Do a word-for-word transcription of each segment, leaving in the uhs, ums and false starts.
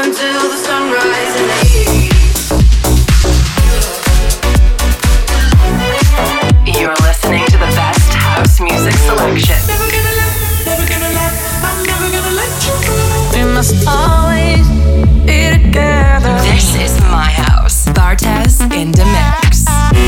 until the sunrise in the east. You're listening to the best house music selection. Never gonna let, never gonna let, I'm never gonna let you go. We must always be together. This is my house. Bartez in the mix.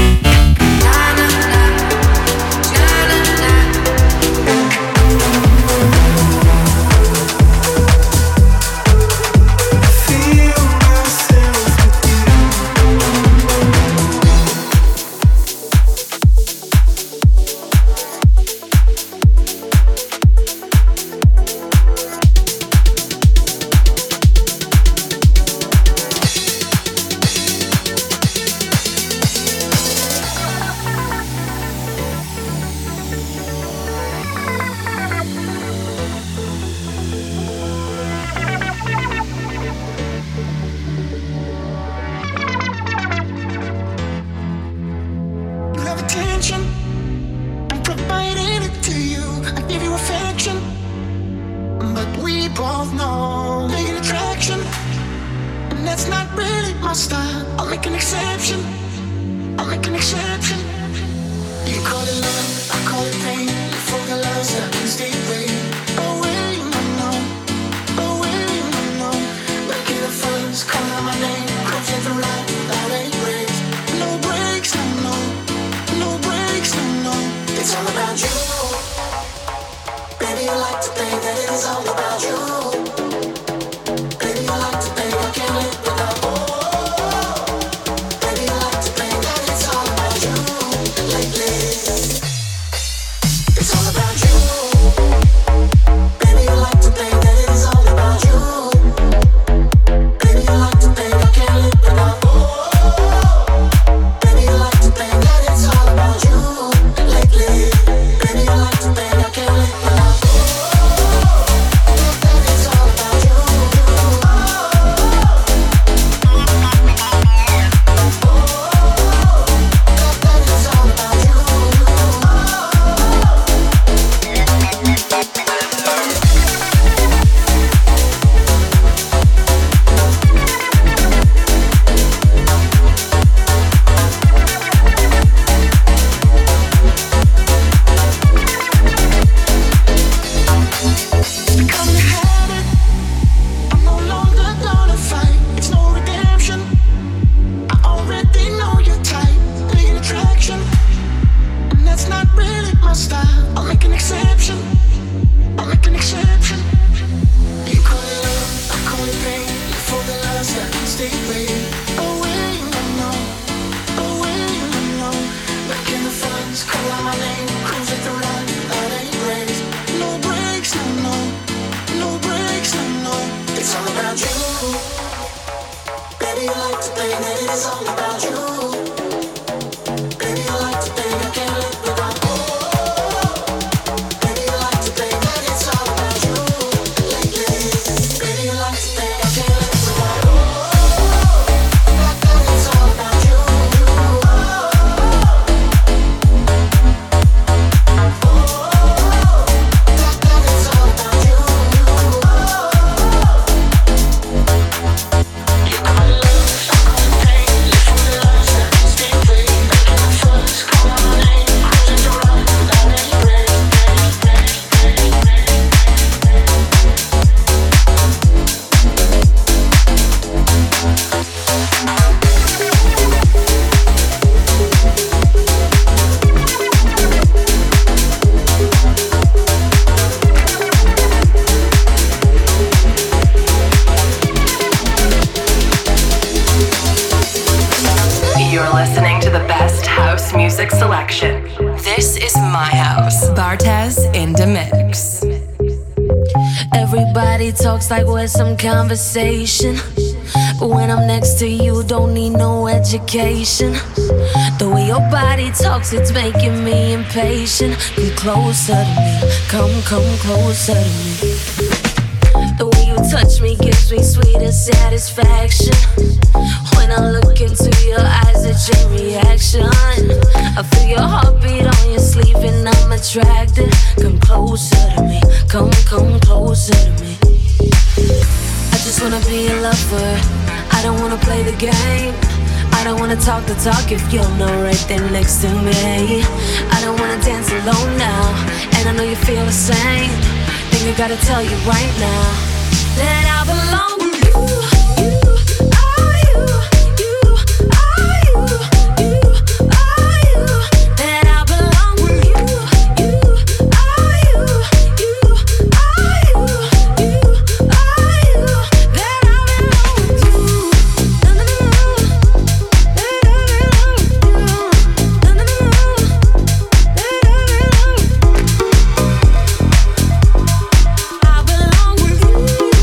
Talks like we're some conversation, but when I'm next to you, don't need no education. The way your body talks, it's making me impatient. Come closer to me, come, come closer to me. The way you touch me gives me sweeter satisfaction. When I look into your eyes, a chain reaction. I feel your heartbeat on your sleeve and I'm attracted. Come closer to me, come, come closer to me. just wanna be a lover. I don't wanna play the game. I don't wanna talk the talk if you're not right there next to me. I don't wanna dance alone now, and I know you feel the same. Think I gotta tell you right now that I belong with you. You are you. You are you. You are you. That I belong with you. You are you. You are you. You are you. That I belong with you. Na na na. That I belong with you. Na na na. That I belong. I belong with you.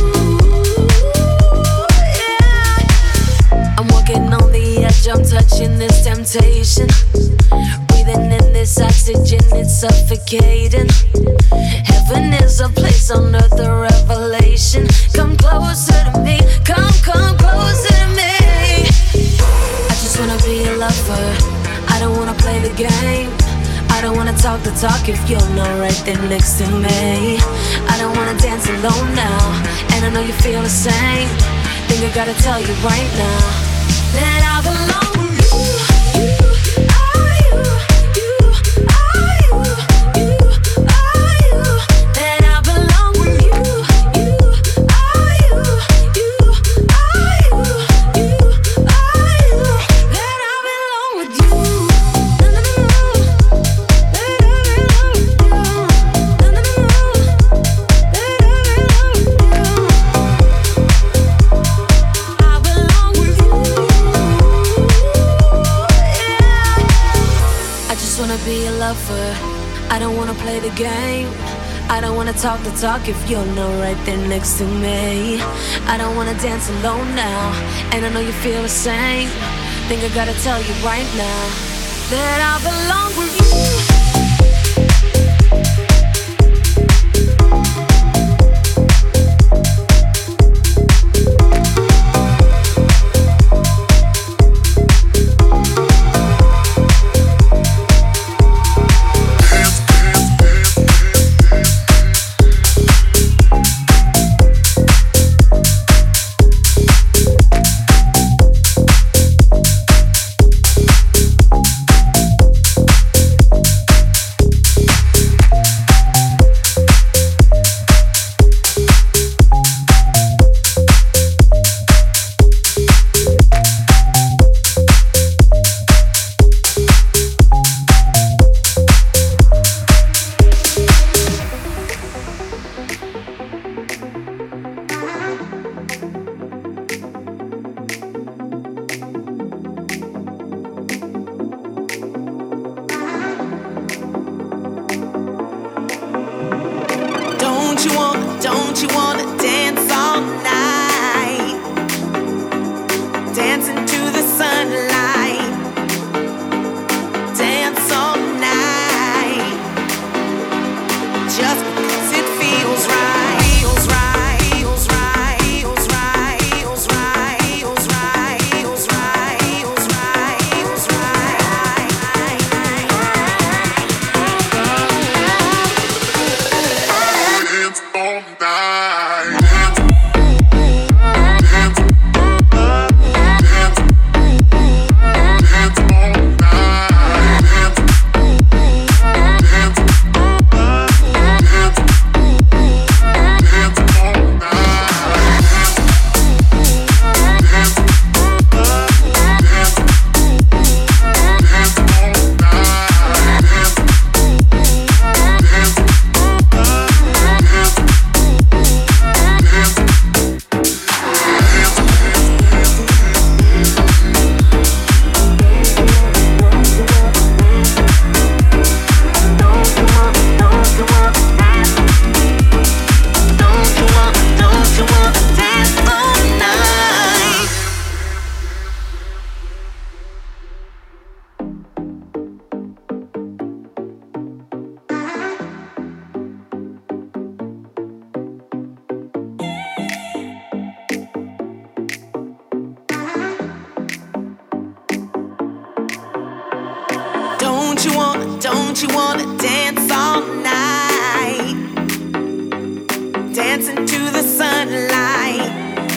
Yeah. I'm walking on the edge. I'm touching this temptation. Breathing in this oxygen, it's suffocating. Heaven is a place on earth, a revelation. Come closer to me, come, come closer to me. I just wanna be a lover. I don't wanna play the game. I don't wanna talk the talk if you're not right there next to me. I don't wanna dance alone now, and I know you feel the same. Think I gotta tell you right now that I belong with you. You are you. You are you. You are you. That I belong with you. You are you. You are you. You are you. That I belong with you. Na na na. That I belong with you. Na na na. That I belong with you. I belong with you. Yeah. I just wanna be a lover. I don't wanna play the game. I don't wanna talk the talk if you're not right there next to me. I don't wanna dance alone now, and I know you feel the same. Think I gotta tell you right now that I belong with you. Don't you wanna, don't you wanna dance all night? Dancing to the sunlight. Dance all night. Just because it feels right. Feels right. Feels right. Feels right. Feels right. Feels right. Feels right. Feels right. Feels right. Dance all night. Don't you wanna, don't you wanna dance all night? Dancing to the sunlight.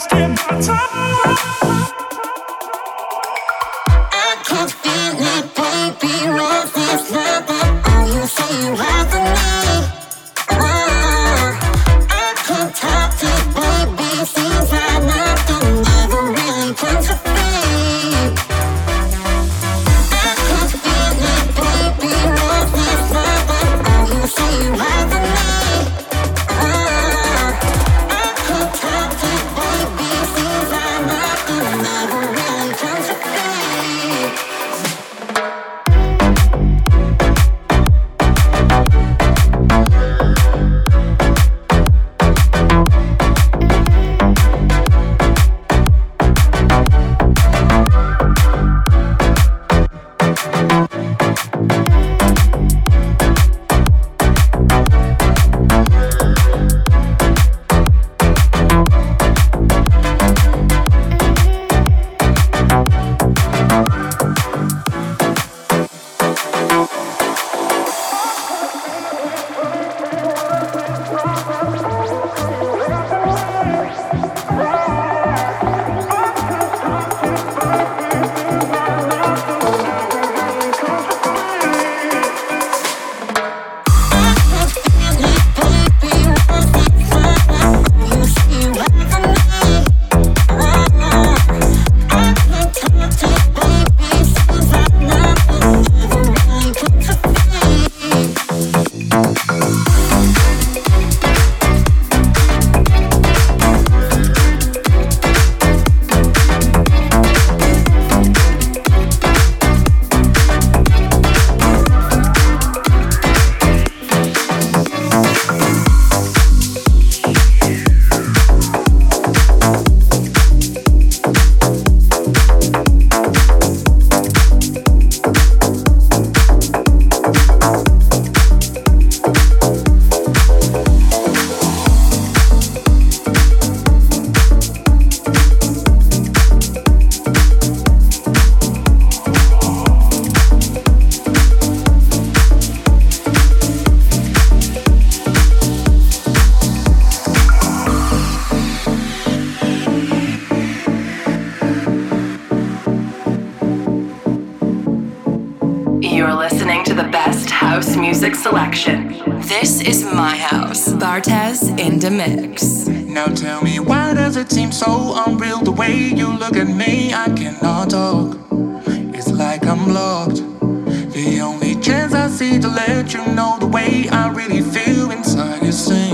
house music selection. This is my house. Bartez in the mix. Now tell me, why does it seem so unreal the way you look at me? I cannot talk. It's like I'm blocked. The only chance I see to let you know the way I really feel inside is sing.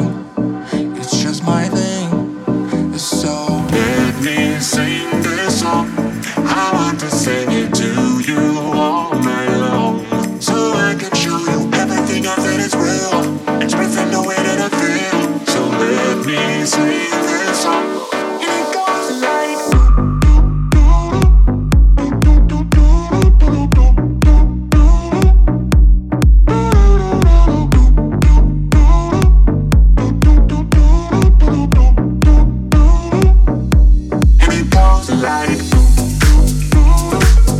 It's just my thing. So let me sing this song. I want to sing it to you all night long, so I can show you everything I said is real, expressing the way that I feel. So let me sing this song. And it goes like and it goes like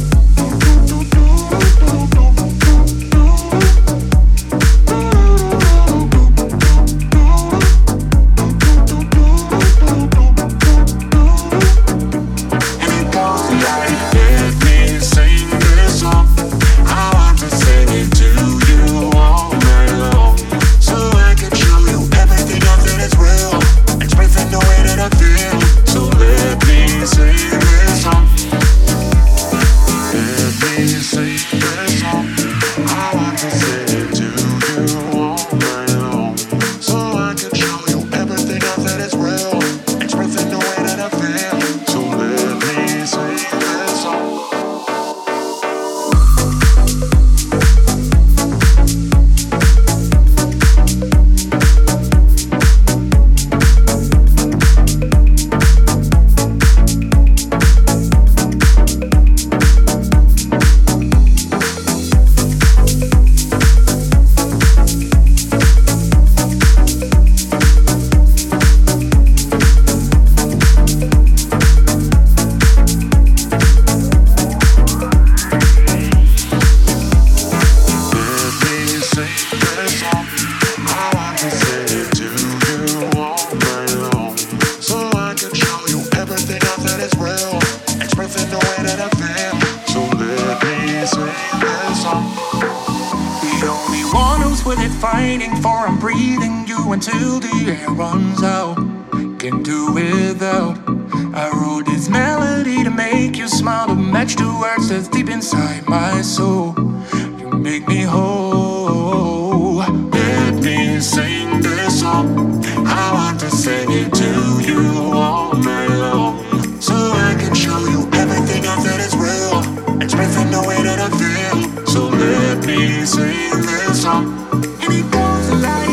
waiting for, I'm breathing you until the air runs out. Can't do without. I wrote this melody to make you smile, to match the words that's deep inside my soul. You make me whole. Let me sing this song. I want to sing it to you all night long, so I can show you everything I feel is real, expressing the way that I feel. So let me sing this song, and it goes like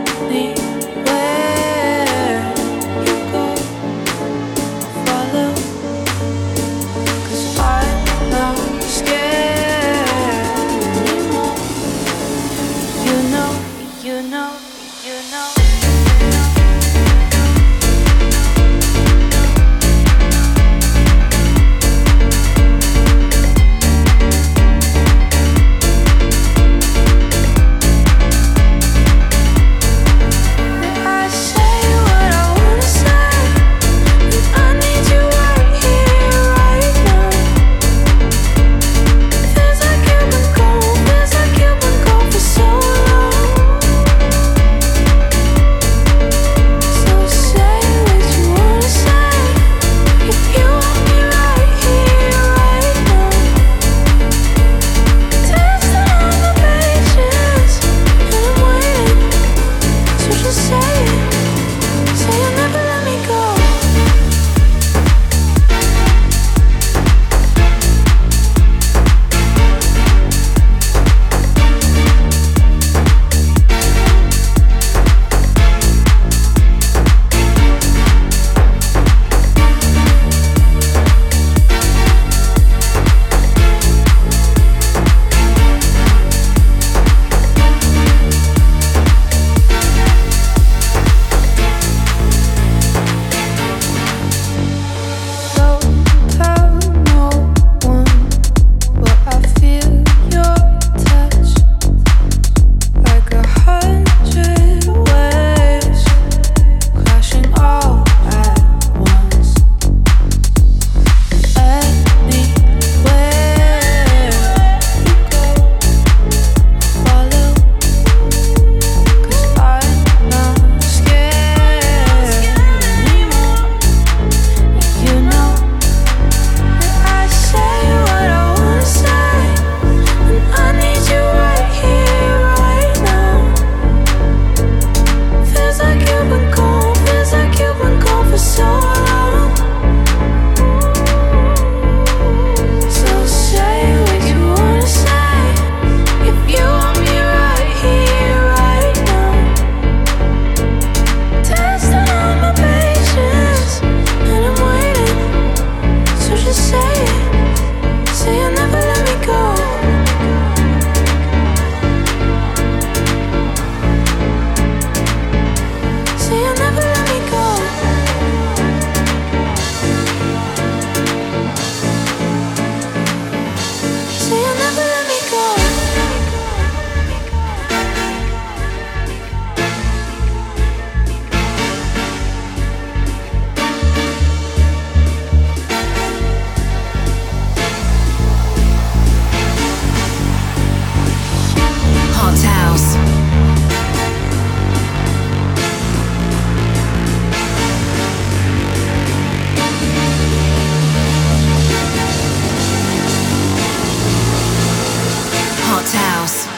Anywhere you go, follow.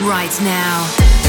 right now.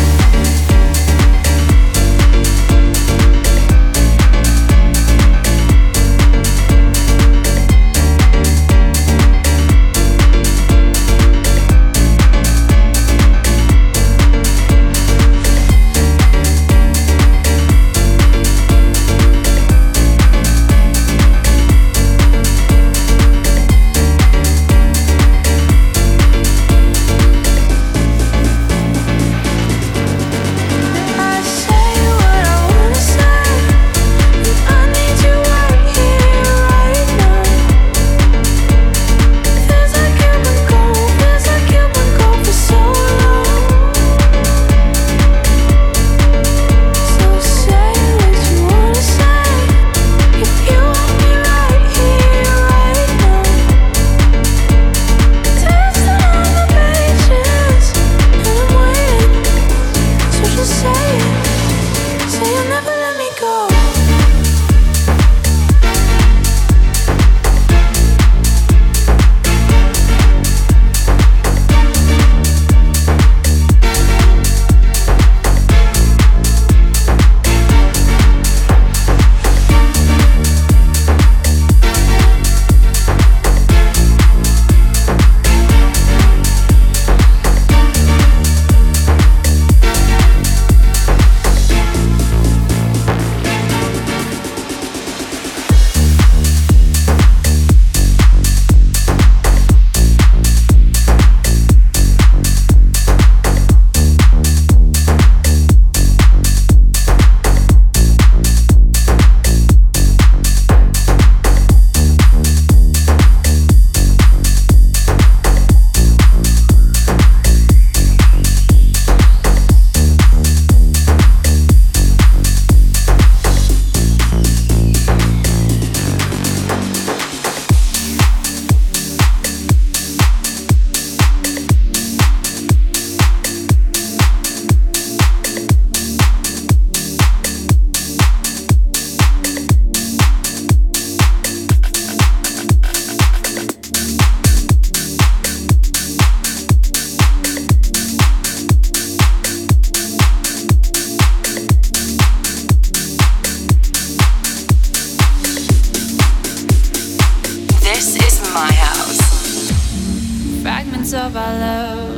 Of our love,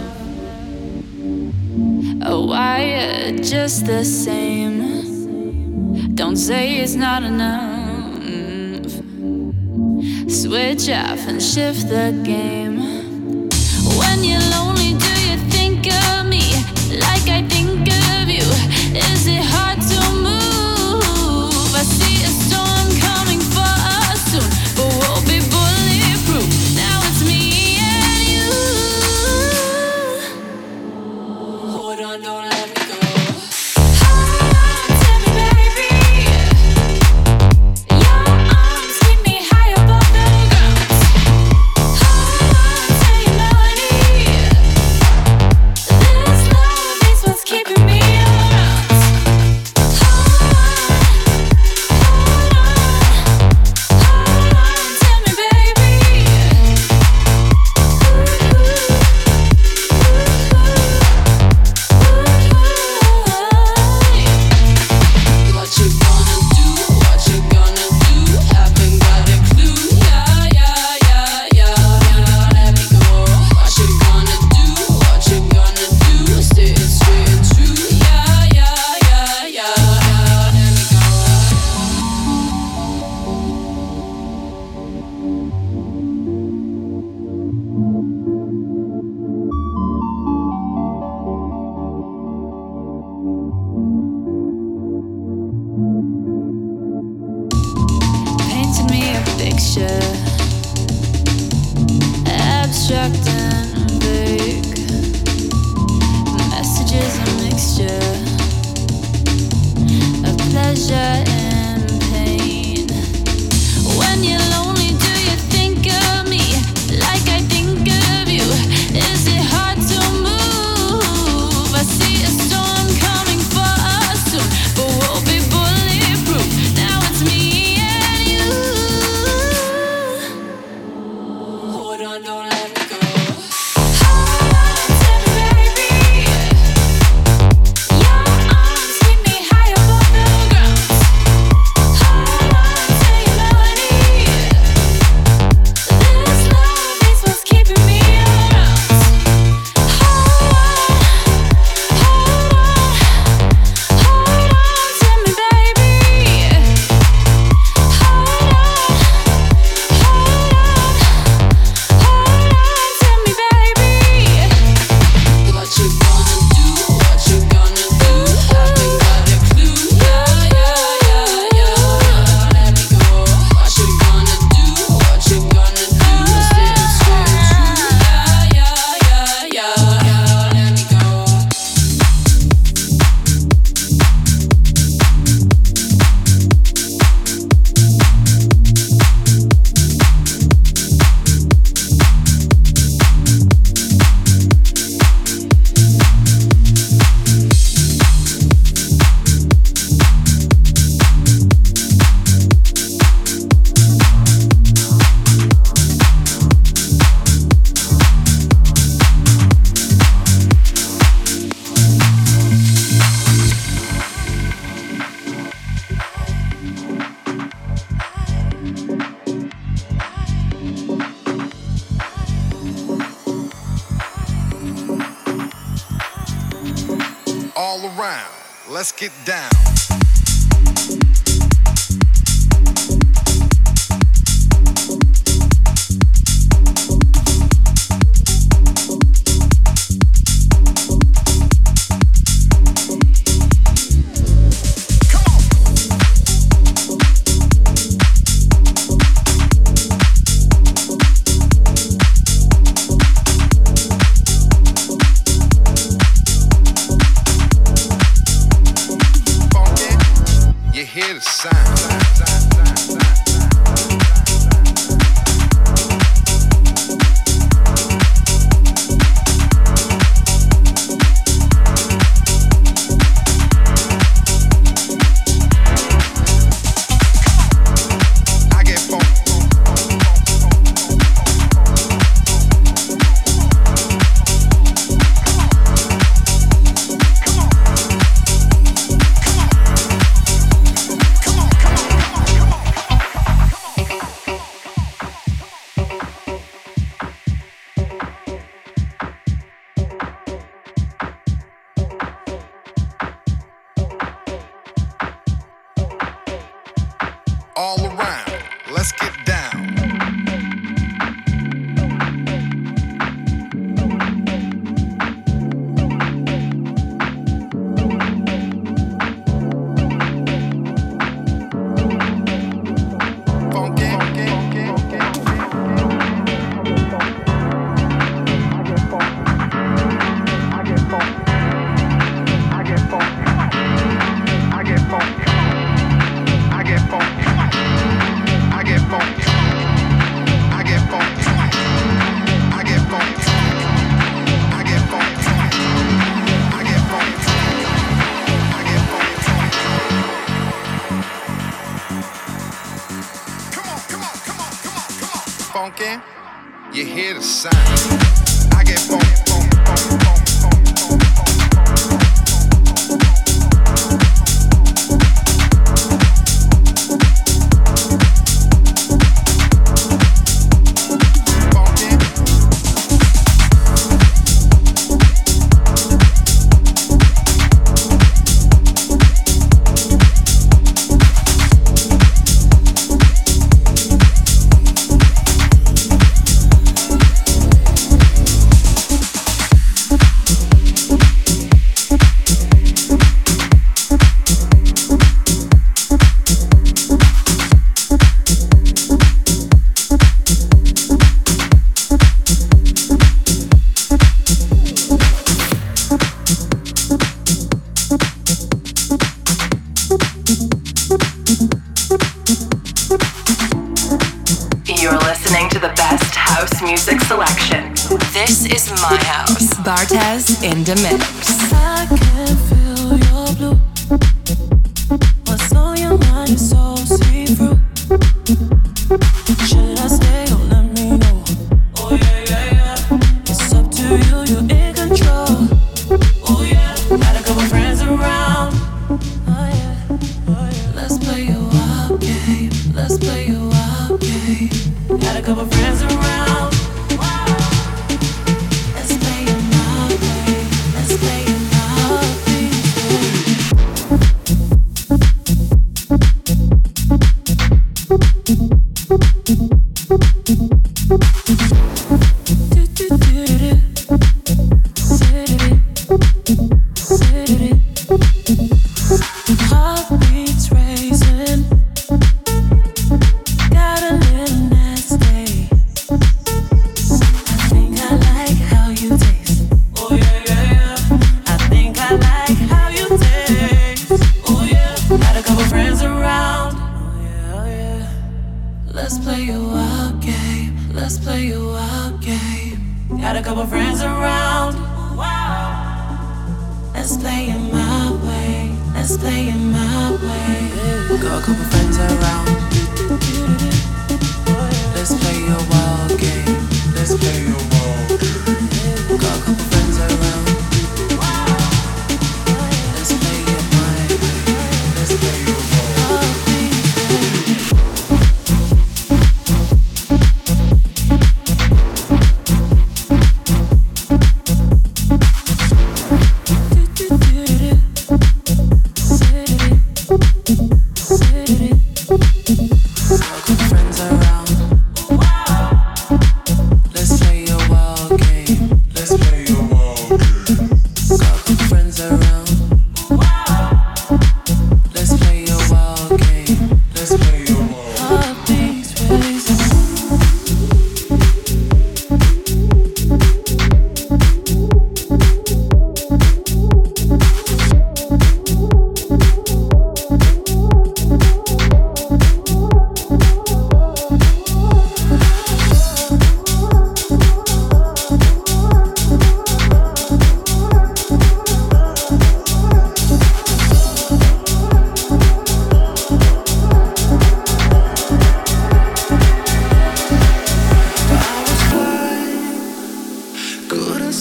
oh, wired just the same. Don't say it's not enough. Switch off and shift the game. When you're lonely, do you think of me like I think of you? Is it hard to move? I see a storm coming for us soon, but we'll be bulletproof. Now it's me. Don't let me go. Hold on to me, baby. Your arms keep me high above the ground. Hold on to your melody. This love is what's keeping me around. Hold on, hold on, hold on to me, baby. Ooh, ooh, ooh. Abstract and vague, messages a mixture of pleasure and pain. When you're lonely, do you think of me like I think of you? Is it hard to move? I see a storm coming for us soon, but we'll be bulletproof. Now it's me and you. Hold on, don't let me go. around, let's get down. Hear the sound. All around, let's get down. Funky, you hear the sound. I get funk, funk, funk, funk, funk, funk, music selection. This is my house. Bartez in the mix. I can feel your blue. What's on your mind is so see-through. Should I stay? Don't let me know. Oh yeah, yeah, yeah. It's up to you, you're in control. Oh yeah, got a couple friends around. Oh yeah, oh yeah. Let's play a wild game. Let's play a wild game. Got a couple friends around.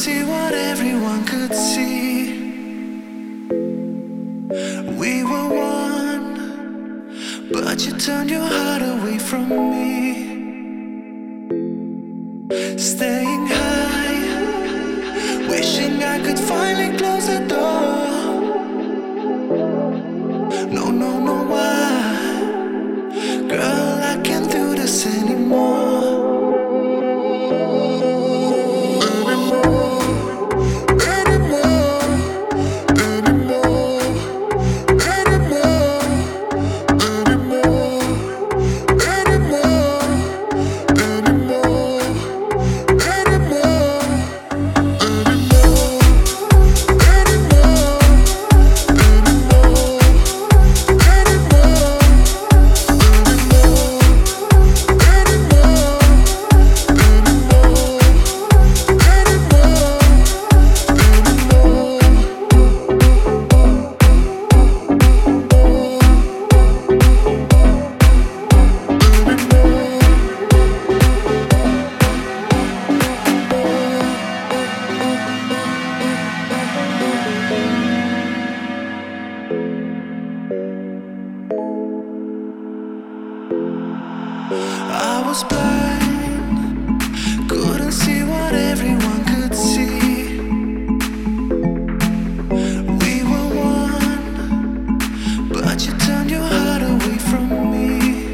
see what everyone could see. We were one, but you turned your heart away from me. Staying high, wishing I could finally close the door. No, no, no, why? Girl, I can't do this anymore. I was blind, couldn't see what everyone could see. We were one, but you turned your heart away from me.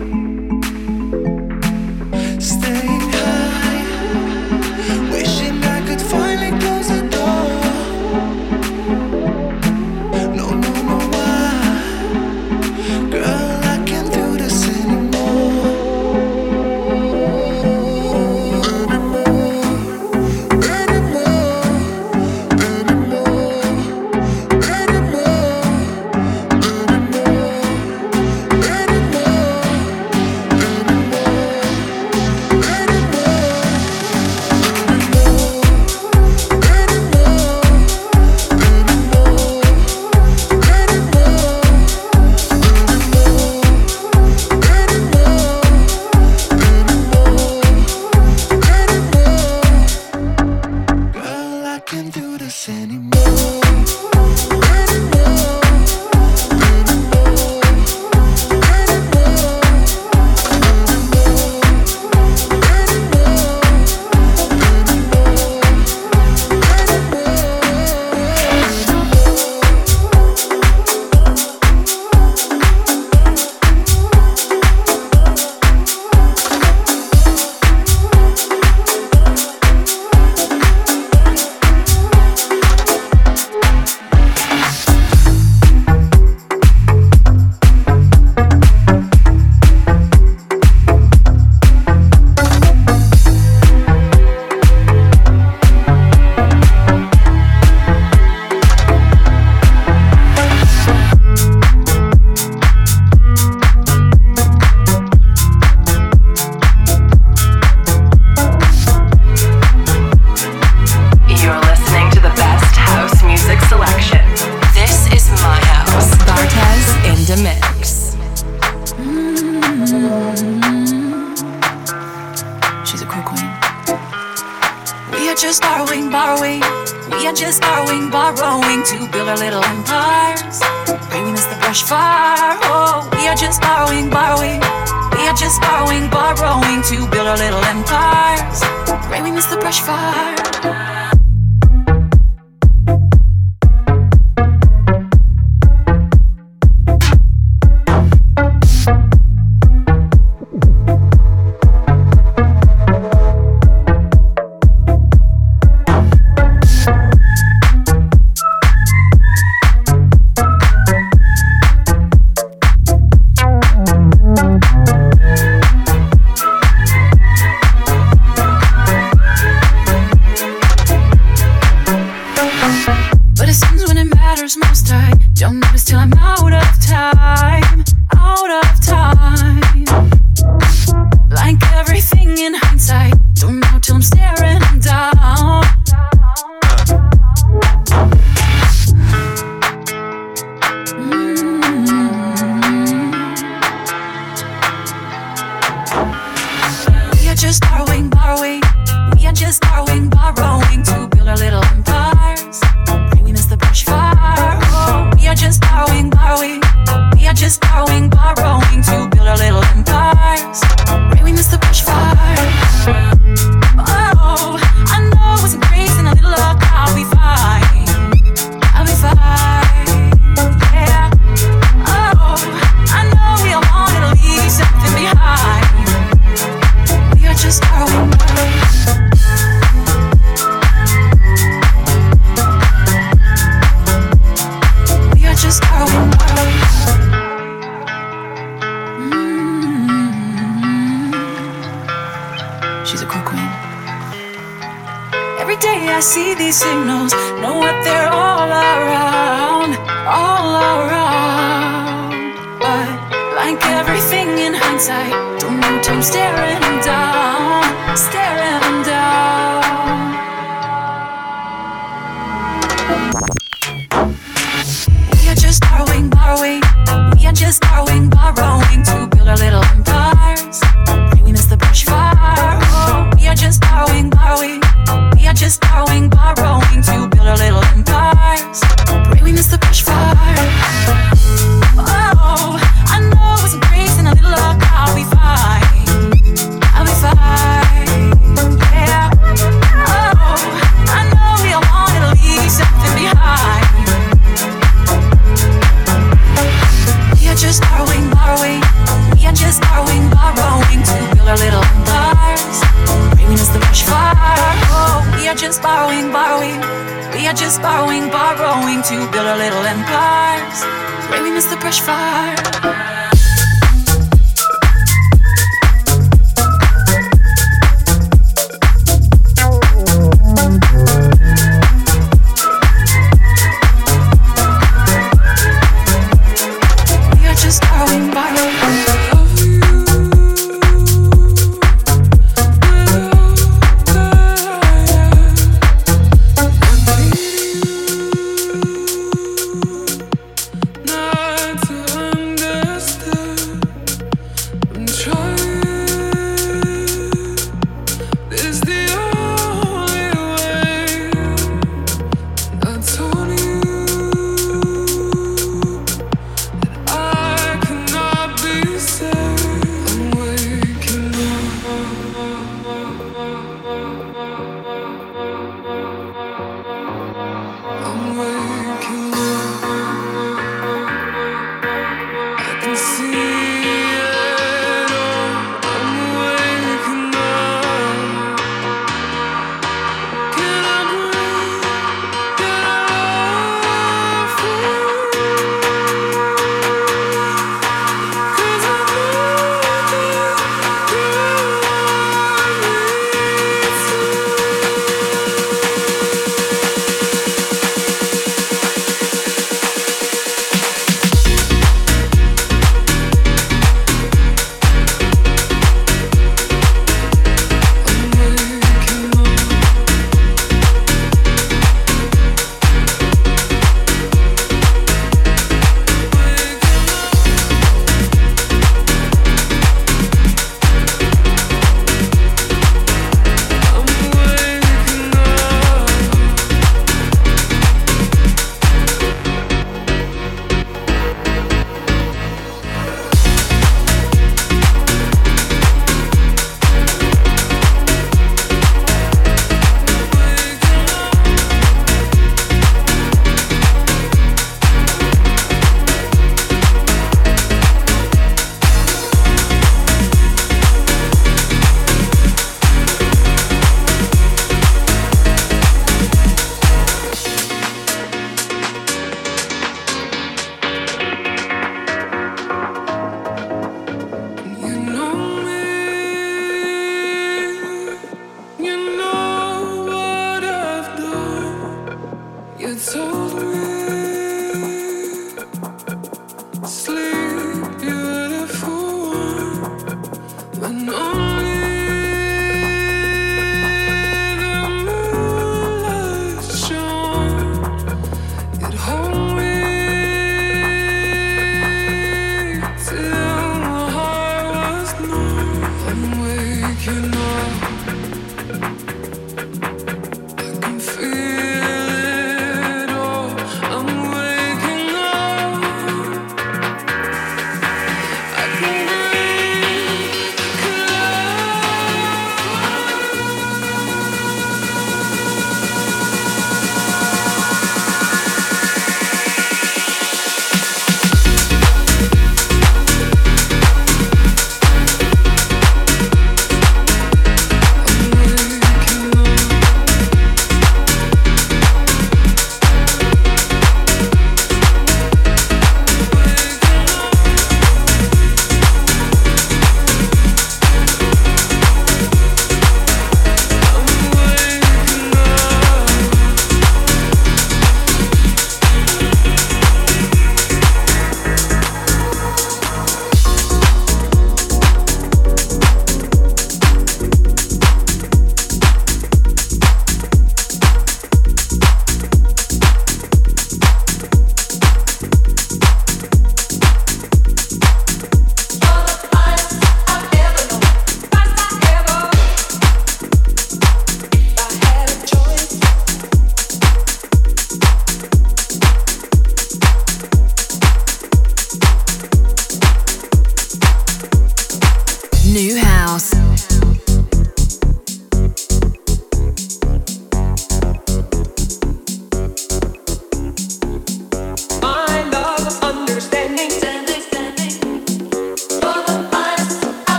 Staying high, wishing I could finally close the door. No, no, no, why? Girl, I can't do this anymore. Can't do this anymore. just borrowing, borrowing. We are just borrowing, borrowing to build our little empires. Bringing us the brush fire. Oh, we are just borrowing, borrowing. We are just borrowing, borrowing to build our little empires. Bringing us the brush fire. Most I don't notice till I'm out of time, out of time. Like everything in hindsight, don't know till I'm staring down. Mm-hmm. We are just borrowing, borrowing. We are just borrowing, borrowing to build our little Every day I see these signals, know what they're all around, all around. But like everything in hindsight, don't know till I'm staring them down, staring them down. We are just borrowing, borrowing. We are just borrowing, borrowing to build our little empires. Dreaming is the brush fire. Oh, we are just borrowing, borrowing. We are just borrowing, borrowing to build our little empires. Dreaming is the brush fire. Oh, I know it's some grace and a little luck. I'll be fine. I'll be fine. Yeah. Oh, I know we all wanted to leave something behind. We are just borrowing, borrowing. We are just borrowing, borrowing to build our little empires. Dreaming is the brush fire. Oh, we are just borrowing, borrowing. We are just borrowing, borrowing to build our little empires. Dreaming is the brush fire. Feel it all.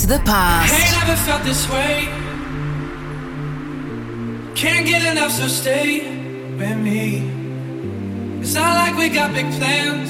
to the past. Ain't never felt this way. Can't get enough, so stay with me. It's not like we got big plans.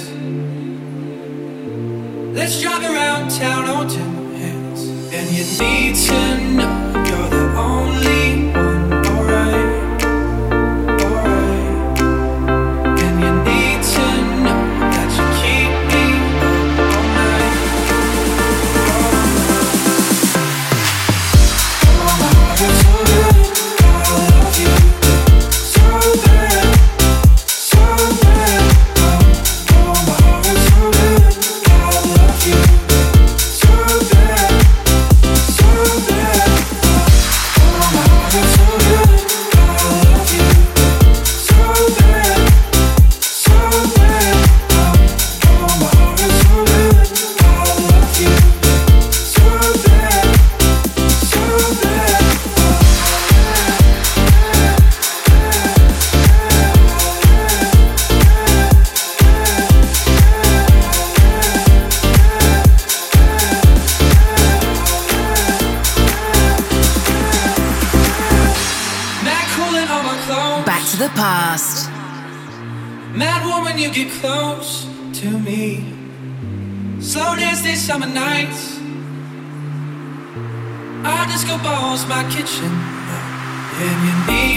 Let's drive around town on ten hands. And you need to know you're the only one, alright, alright. And you need to know that you keep me up all night, all night. Oh, my heart is so good, I love you so bad, so bad. Oh, oh, my heart is so good, I love you so bad, so bad. Oh, my heart is so good, I love you so bad, so bad. Oh, my heart is so good, I love you so bad, so bad. Mad cooling on my clothes. Back to the past. Mad woman, you get close to me. Slow dance these summer nights. Our disco ball's my kitchen. And you need